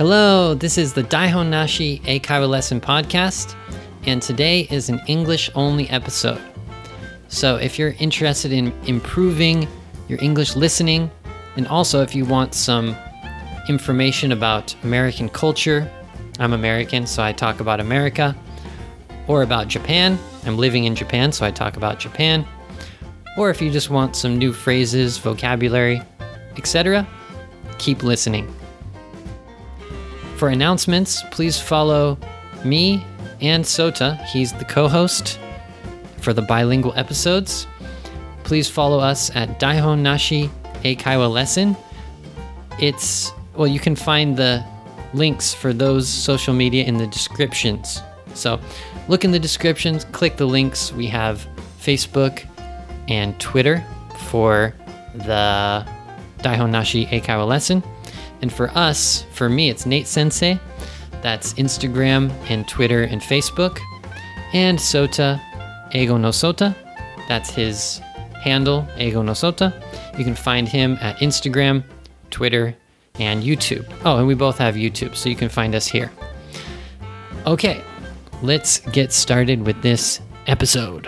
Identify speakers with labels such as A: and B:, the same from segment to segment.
A: Hello, this is the Daihon Nashi Eikaiwa Lesson Podcast, and today is an English-only episode. So if you're interested in improving your English listening, and also if you want some information about American culture, I'm American, so I talk about America, or about Japan, I'm living in Japan, so I talk about Japan, or if you just want some new phrases, vocabulary, etc., keep listening. For announcements, please follow me and Sota. He's the co-host for the bilingual episodes. Please follow us at Daihon Nashi Eikaiwa Lesson. You can find the links for those social media in the descriptions. So look in the descriptions, click the links. We have Facebook and Twitter for the Daihon Nashi Eikaiwa Lesson. And for me, it's Nate Sensei. That's Instagram and Twitter and Facebook. And Sota, Eigo no Sota. That's his handle, Eigo no Sota. You can find him at Instagram, Twitter, and YouTube. Oh, and we both have YouTube, so you can find us here. Okay, let's get started with this episode.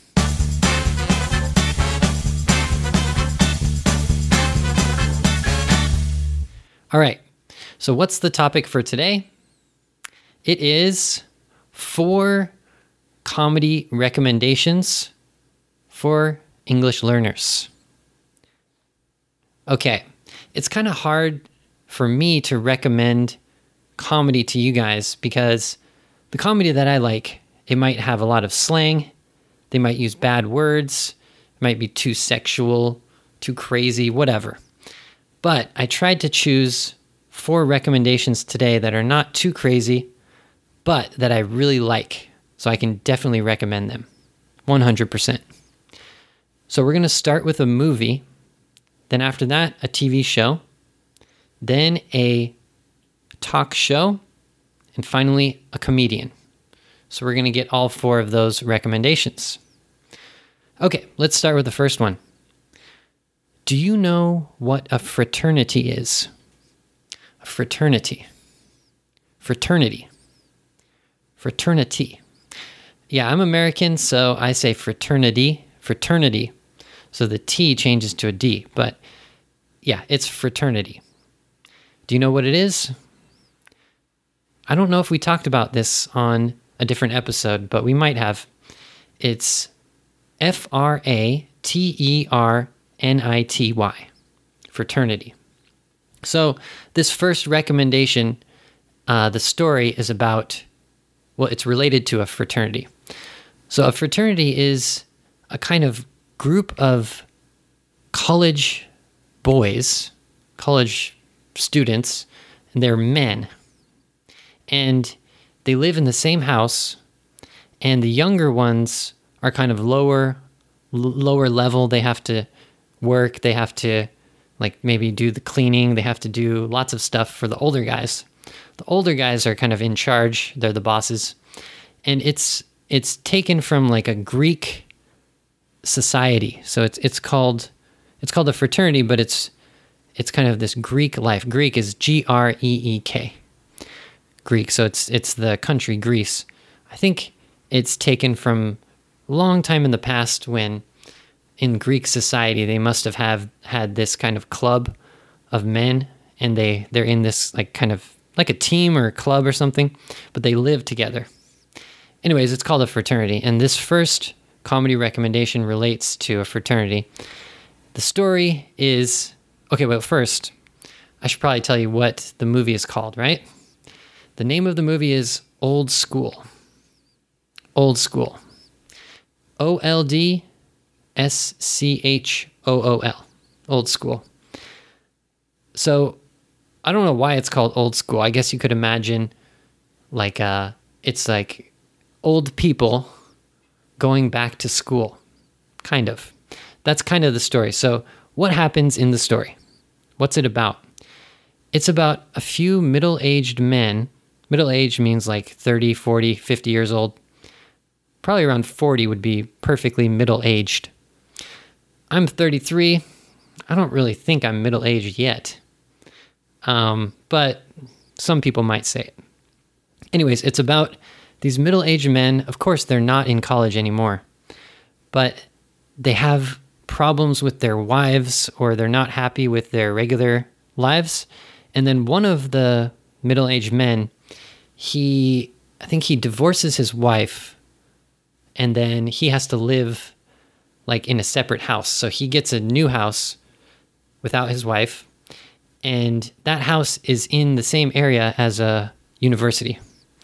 A: All right, so what's the topic for today? It is 4 comedy recommendations for English learners. Okay, it's kind of hard for me to recommend comedy to you guys because the comedy that I like, it might have a lot of slang, they might use bad words, it might be too sexual, too crazy, whatever. But I tried to choose 4 recommendations today that are not too crazy, but that I really like. So I can definitely recommend them. 100%. So we're going to start with a movie. Then after that, a TV show. Then a talk show. And finally, a comedian. So we're going to get all 4 of those recommendations. Okay, let's start with the first one. Do you know what a fraternity is? A fraternity. Fraternity. Fraternity. Yeah, I'm American, so I say fraternity. Fraternity. So the T changes to a D, but yeah, it's fraternity. Do you know what it is? I don't know if we talked about this on a different episode, but we might have. It's F-R-A-T-E-R-N-I-T-Y. Fraternity. So this first recommendation, the story is about, it's related to a fraternity. So a fraternity is a kind of group of college boys, college students, and they're men. And they live in the same house, and the younger ones are kind of lower level. They have to work, they have to maybe do the cleaning, they have to do lots of stuff for the older guys. The older guys are kind of in charge, they're the bosses. And it's taken from a Greek society. So it's called a fraternity, but it's kind of this Greek life. Greek is G-R-E-E-K. Greek, so it's the country Greece. I think it's taken from a long time in the past when in Greek society, they must have had this kind of club of men, and they're in this kind of like a team or a club or something, but they live together. Anyways, it's called a fraternity, and this first comedy recommendation relates to a fraternity. The story is... Okay, well, first, I should probably tell you what the movie is called, right? The name of the movie is Old School. Old School. O-L-D... S-C-H-O-O-L. Old School. So, I don't know why it's called Old School. I guess you could imagine it's like old people going back to school. Kind of. That's kind of the story. So, what happens in the story? What's it about? It's about a few middle-aged men. Middle-aged means 30, 40, 50 years old. Probably around 40 would be perfectly middle-aged. I'm 33. I don't really think I'm middle-aged yet. But Some people might say it. Anyways, it's about these middle-aged men. Of course, they're not in college anymore, but they have problems with their wives, or they're not happy with their regular lives. And then one of the middle-aged men, I think he divorces his wife, and then he has to live like in a separate house. So he gets a new house without his wife, and that house is in the same area as a university,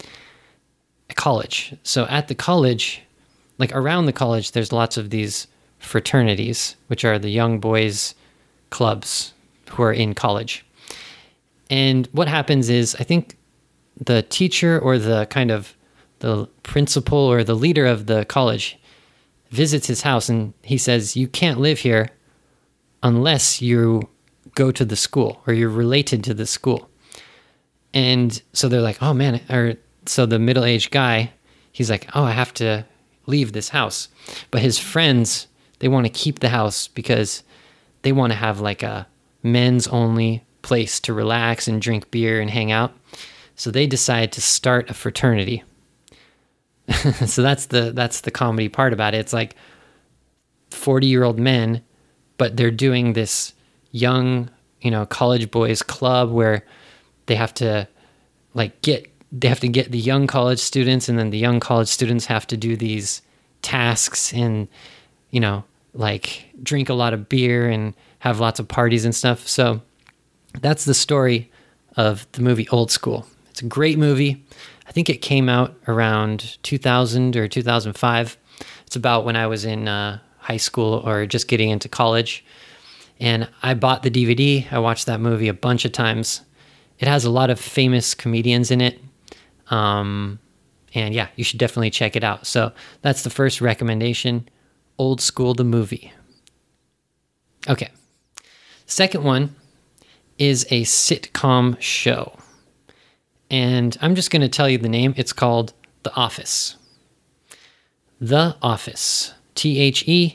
A: a college. So at the college, like around the college, there's lots of these fraternities, which are the young boys clubs who are in college. And what happens is, I think the teacher or the kind of the principal or the leader of the college visits his house, and he says, you can't live here unless you go to the school or you're related to the school. And so they're like, oh man, so the middle-aged guy, he's like, oh, I have to leave this house. But his friends, they want to keep the house because they want to have like a men's only place to relax and drink beer and hang out. So they decide to start a fraternity. So that's the comedy part about it. It's like 40-year-old men, but they're doing this young, college boys club where they have to get the young college students, and then the young college students have to do these tasks and, drink a lot of beer and have lots of parties and stuff. So that's the story of the movie Old School. It's a great movie. I think it came out around 2000 or 2005. It's about when I was in high school or just getting into college. And I bought the DVD. I watched that movie a bunch of times. It has a lot of famous comedians in it. And yeah, you should definitely check it out. So that's the first recommendation, Old School, the movie. Okay. Second one is a sitcom show. And I'm just going to tell you the name. It's called The Office. The Office. TheOffice.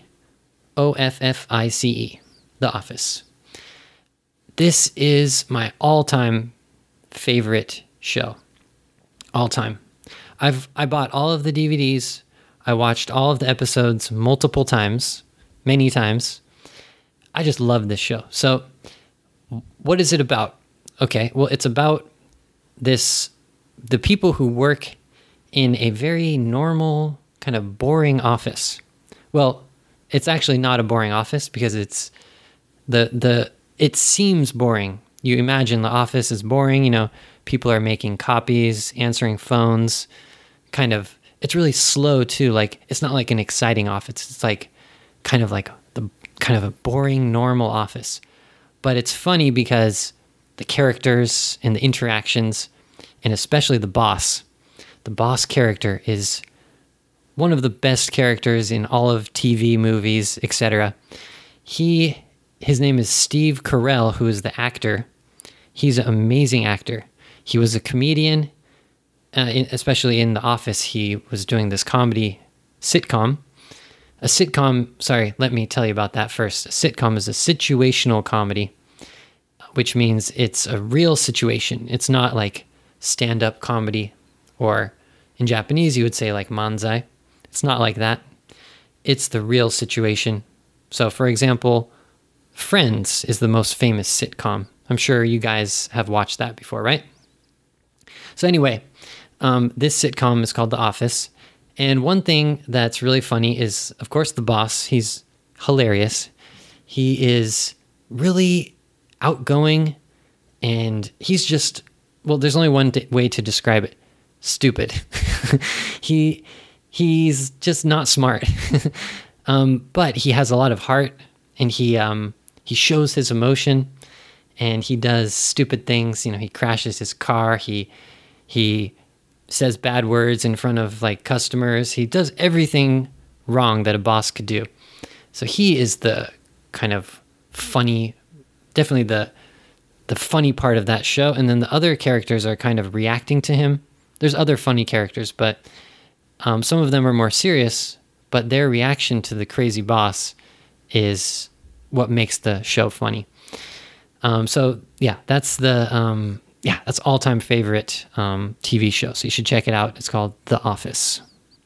A: The Office. This is my all-time favorite show. All time. I bought all of the DVDs. I watched all of the episodes multiple times, many times. I just love this show. So what is it about? Okay, well, it's about the people who work in a very normal, kind of boring office. Well, it's actually not a boring office because it's it seems boring. You imagine the office is boring, people are making copies, answering phones, it's really slow too. Like, it's not like an exciting office. It's like kind of a boring, normal office. But it's funny because the characters and the interactions, and especially the boss character is one of the best characters in all of TV, movies, etc. His name is Steve Carell, who is the actor. He's an amazing actor. He was a comedian, especially in The Office. He was doing this comedy sitcom. A sitcom, sorry, let me tell you about that first. A sitcom is a situational comedy, which means it's a real situation. It's not like stand-up comedy, or in Japanese you would say like manzai. It's not like that. It's the real situation. So for example, Friends is the most famous sitcom. I'm sure you guys have watched that before, right? So anyway, this sitcom is called The Office. And one thing that's really funny is, of course, the boss. He's hilarious. He is really outgoing, and he's just, well, there's only one way to describe it. Stupid. He's just not smart. But he has a lot of heart, and he shows his emotion, and he does stupid things. He crashes his car. He says bad words in front of like customers. He does everything wrong that a boss could do. So he is the kind of funny, definitely the funny part of that show. And then the other characters are kind of reacting to him. There's other funny characters, but some of them are more serious, but their reaction to the crazy boss is what makes the show funny. So yeah, that's the yeah, that's all-time favorite TV show. So you should check it out. It's called The Office.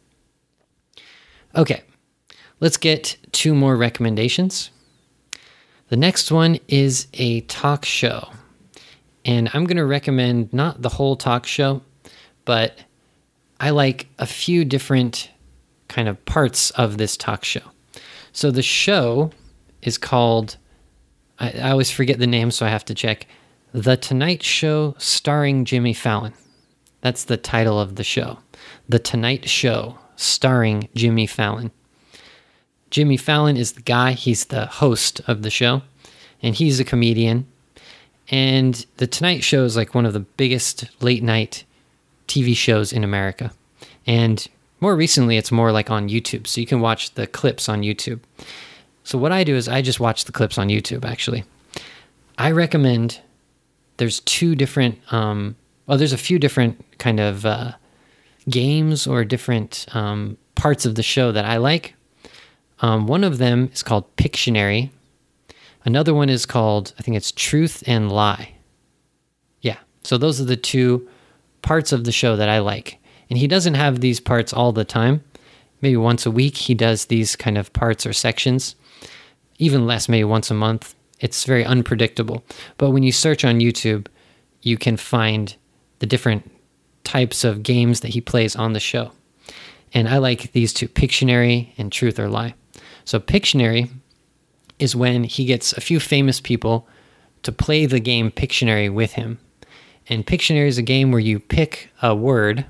A: Okay, let's get 2 more recommendations. The next one is a talk show. And I'm going to recommend not the whole talk show, but I like a few different kind of parts of this talk show. So the show is called, I always forget the name, so I have to check, The Tonight Show Starring Jimmy Fallon. That's the title of the show. The Tonight Show Starring Jimmy Fallon. Jimmy Fallon is the guy, he's the host of the show, and he's a comedian. And The Tonight Show is like one of the biggest late night TV shows in America. And more recently, it's more like on YouTube, so you can watch the clips on YouTube. So what I do is I just watch the clips on YouTube, actually. I recommend, there's 2 different, there's a few different kind of games or different parts of the show that I like. One of them is called Pictionary. Another one is called, I think it's Truth and Lie. Yeah, so those are the 2 parts of the show that I like. And he doesn't have these parts all the time. Maybe once a week he does these kind of parts or sections. Even less, maybe once a month. It's very unpredictable. But when you search on YouTube, you can find the different types of games that he plays on the show. And I like these 2, Pictionary and Truth or Lie. So Pictionary is when he gets a few famous people to play the game Pictionary with him. And Pictionary is a game where you pick a word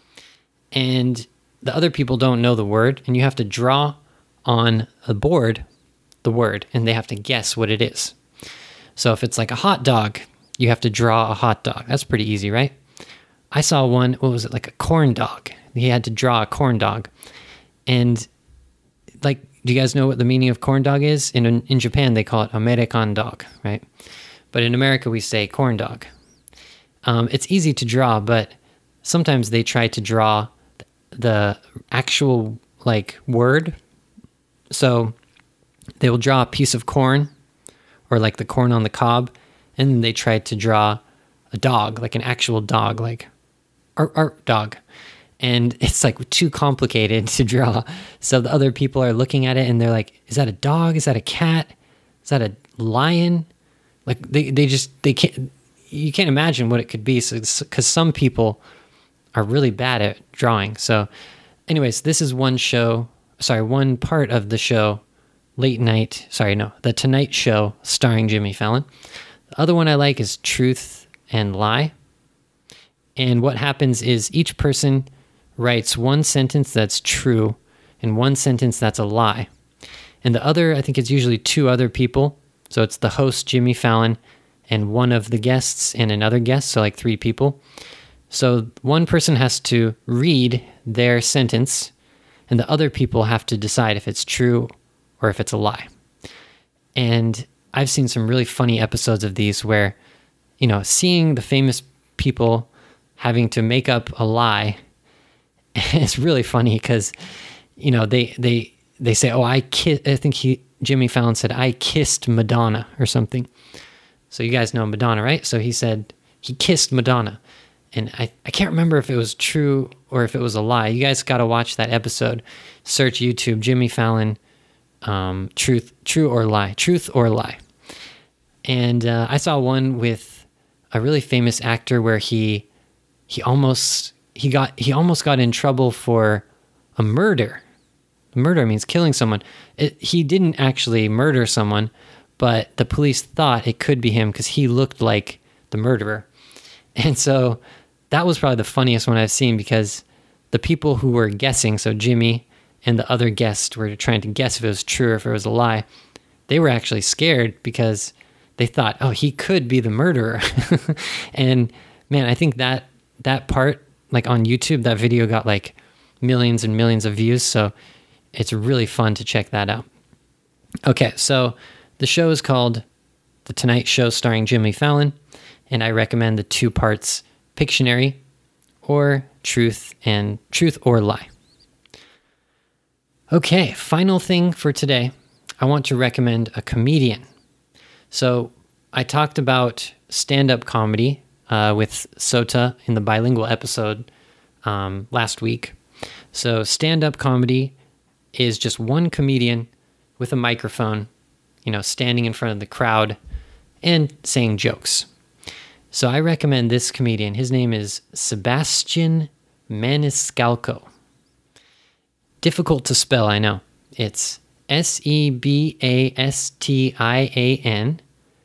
A: and the other people don't know the word, and you have to draw on a board the word, and they have to guess what it is. So if it's like a hot dog, you have to draw a hot dog. That's pretty easy, right? I saw one, what was it, like a corn dog. He had to draw a corn dog. And like, do you guys know what the meaning of corn dog is? In Japan, they call it American dog, right? But in America, we say corn dog. It's easy to draw, but sometimes they try to draw the actual like word. So they will draw a piece of corn or like the corn on the cob, and then they try to draw a dog, like an actual dog, like art dog. And it's like too complicated to draw. So the other people are looking at it and they're like, is that a dog? Is that a cat? Is that a lion? Like they can't, you can't imagine what it could be. So, because some people are really bad at drawing. So anyways, this is one part of the show, The Tonight Show starring Jimmy Fallon. The other one I like is Truth and Lie. And what happens is each person writes one sentence that's true and one sentence that's a lie. And the other, I think it's usually 2 other people. So it's the host, Jimmy Fallon, and one of the guests and another guest, so like 3 people. So one person has to read their sentence, and the other people have to decide if it's true or if it's a lie. And I've seen some really funny episodes of these where, seeing the famous people having to make up a lie, it's really funny because, they say, oh, I think Jimmy Fallon said, I kissed Madonna or something. So you guys know Madonna, right? So he said he kissed Madonna. And I can't remember if it was true or if it was a lie. You guys got to watch that episode. Search YouTube, Jimmy Fallon, Truth or Lie. And I saw one with a really famous actor where he almost got in trouble for a murder. Murder means killing someone. He didn't actually murder someone, but the police thought it could be him because he looked like the murderer. And so that was probably the funniest one I've seen because the people who were guessing, so Jimmy and the other guest were trying to guess if it was true or if it was a lie. They were actually scared because they thought, oh, he could be the murderer. And man, I think that part, like on YouTube, that video got like millions and millions of views. So it's really fun to check that out. Okay, so the show is called The Tonight Show starring Jimmy Fallon. And I recommend the 2 parts, Pictionary or Truth or Lie. Okay, final thing for today. I want to recommend a comedian. So I talked about stand-up comedy with Sota in the bilingual episode last week. So stand-up comedy is just one comedian with a microphone, standing in front of the crowd and saying jokes. So I recommend this comedian. His name is Sebastian Maniscalco. Difficult to spell, I know. It's Sebastian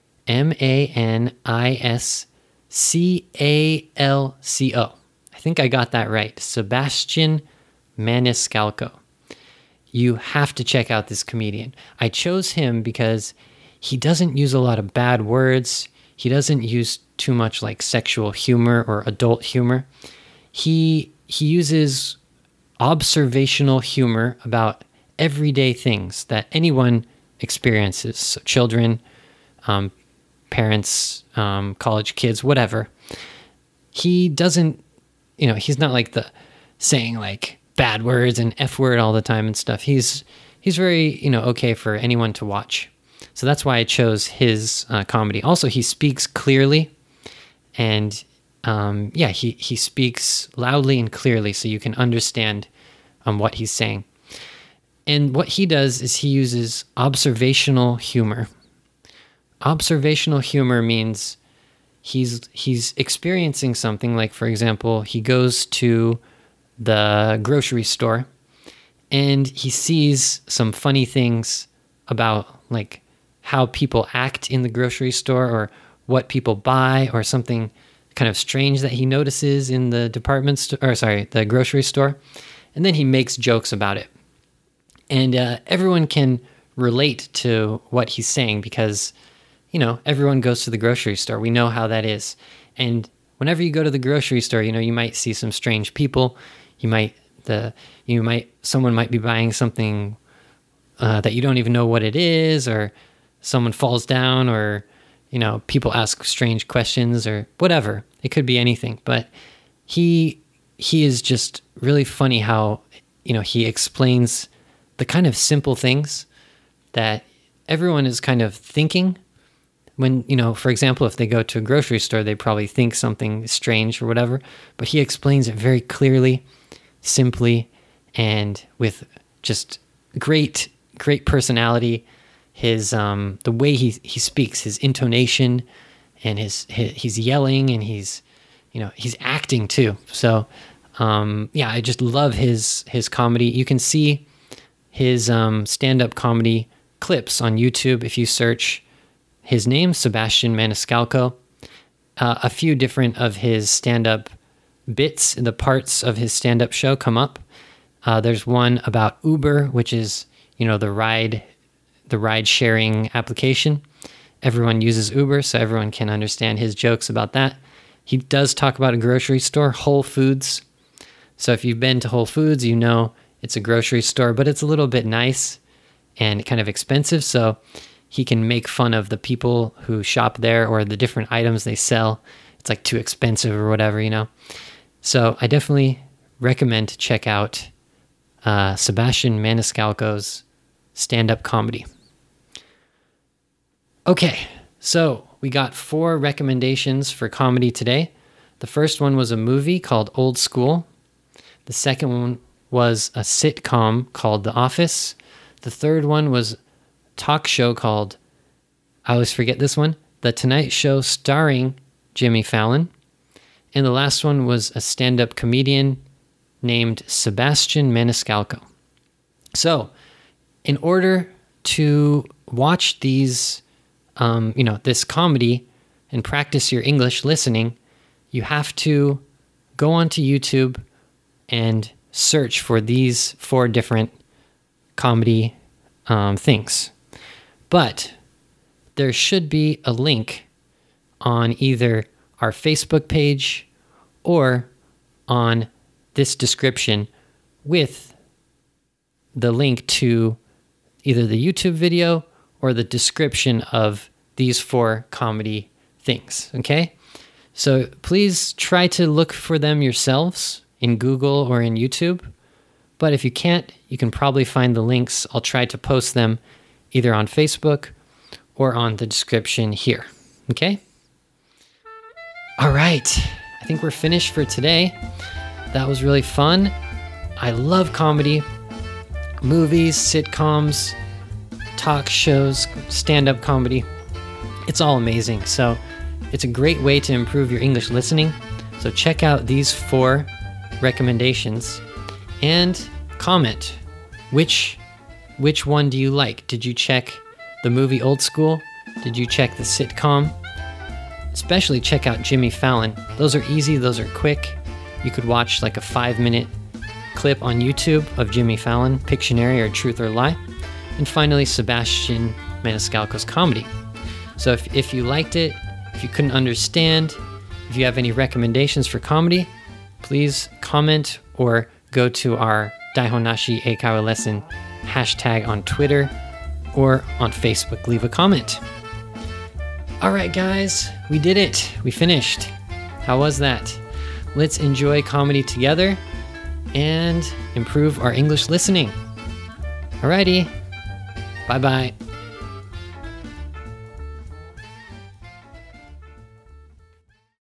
A: Maniscalco. I think I got that right. Sebastian Maniscalco. You have to check out this comedian. I chose him because he doesn't use a lot of bad words. He doesn't use too much like sexual humor or adult humor. He uses observational humor about everyday things that anyone experiences. So children, parents, college kids, whatever. He doesn't, he's not like the saying like bad words and F word all the time and stuff. He's very, okay for anyone to watch. So that's why I chose his comedy. Also, he speaks clearly, and he speaks loudly and clearly so you can understand what he's saying. And what he does is he uses observational humor. Observational humor means he's experiencing something, like, for example, he goes to the grocery store and he sees some funny things about like how people act in the grocery store or what people buy or something kind of strange that he notices in the the grocery store. And then he makes jokes about it. And everyone can relate to what he's saying because, everyone goes to the grocery store. We know how that is. And whenever you go to the grocery store, you might see some strange people. Someone might be buying something that you don't even know what it is, or someone falls down, or, people ask strange questions or whatever. It could be anything, but he is just really funny how, he explains the kind of simple things that everyone is kind of thinking when, for example, if they go to a grocery store, they probably think something strange or whatever, but he explains it very clearly, simply, and with just great personality. His the way he speaks, his intonation, and he's yelling, and he's acting too. So I just love his comedy. You can see his stand-up comedy clips on YouTube if you search his name, Sebastian Maniscalco. A few different of his stand-up bits, the parts of his stand-up show come up. There's one about Uber, which is, the ride-sharing application. Everyone uses Uber, so everyone can understand his jokes about that. He does talk about a grocery store, Whole Foods. So if you've been to Whole Foods, it's a grocery store, but it's a little bit nice and kind of expensive. So he can make fun of the people who shop there or the different items they sell. It's like too expensive or whatever, So I definitely recommend to check out Sebastian Maniscalco's stand-up comedy. Okay, so we got 4 recommendations for comedy today. The first one was a movie called Old School. The second one was a sitcom called The Office. The third one was a talk show called, I always forget this one, The Tonight Show starring Jimmy Fallon. And the last one was a stand-up comedian named Sebastian Maniscalco. So, in order to watch these, this comedy and practice your English listening, you have to go onto YouTube and search for these 4 different comedy things. But there should be a link on either our Facebook page or on this description with the link to either the YouTube video or the description of these 4 comedy things, okay? So please try to look for them yourselves in Google or in YouTube. But if you can't, you can probably find the links. I'll try to post them either on Facebook or on the description here, okay? All right. I think we're finished for today. That was really fun. I love comedy, movies, sitcoms, talk shows, stand-up comedy. It's all amazing. So it's a great way to improve your English listening. So check out these 4 recommendations and comment. Which one do you like? Did you check the movie Old School? Did you check the sitcom? Especially check out Jimmy Fallon. Those are easy, those are quick. You could watch like a 5-minute clip on YouTube of Jimmy Fallon, Pictionary or Truth or Lie. And finally, Sebastian Maniscalco's comedy. So if you liked it, if you couldn't understand, if you have any recommendations for comedy, please comment or go to our Daihonashi Eikaiwa lesson hashtag on Twitter or on Facebook. Leave a comment. All right, guys, we did it. We finished. How was that? Let's enjoy comedy together and improve our English listening. Alrighty. Bye-bye.